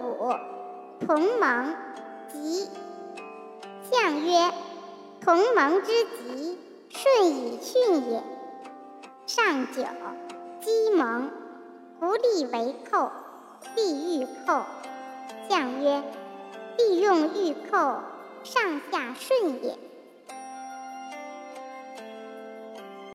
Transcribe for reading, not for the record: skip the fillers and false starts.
补，同盟，吉。象曰：同盟之吉，顺以巽也。上九，鸡蒙，不利为寇，必欲寇。象曰：利用欲寇，上下顺也。